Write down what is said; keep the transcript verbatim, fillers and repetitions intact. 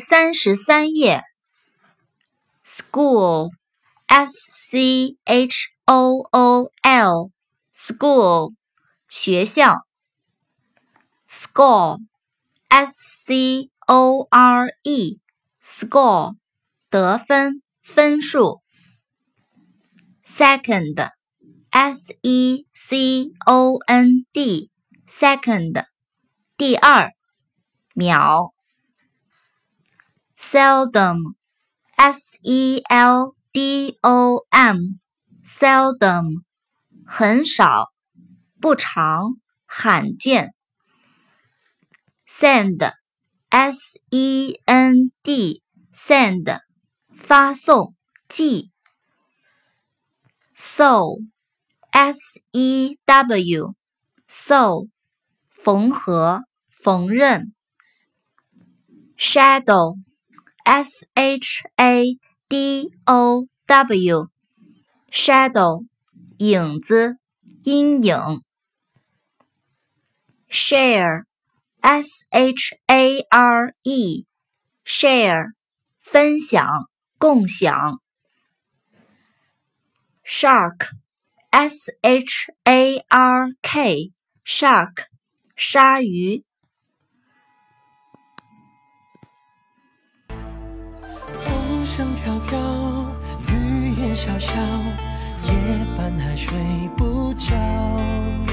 三十三页 ，school s c h o o l school 学校 ，score s c o r e score 得分分数 ，second s e c o n d second 第二秒。seldom s e l d o m seldom 很少不常罕见 send s e n d send 发送寄 sew s e w sew 缝合缝纫 shadow S H A D O W shadow 影子阴影 share S H A R E share 分享共享 shark S H A R K shark 鲨鱼风飘飘，雨也潇潇，夜半还睡不着。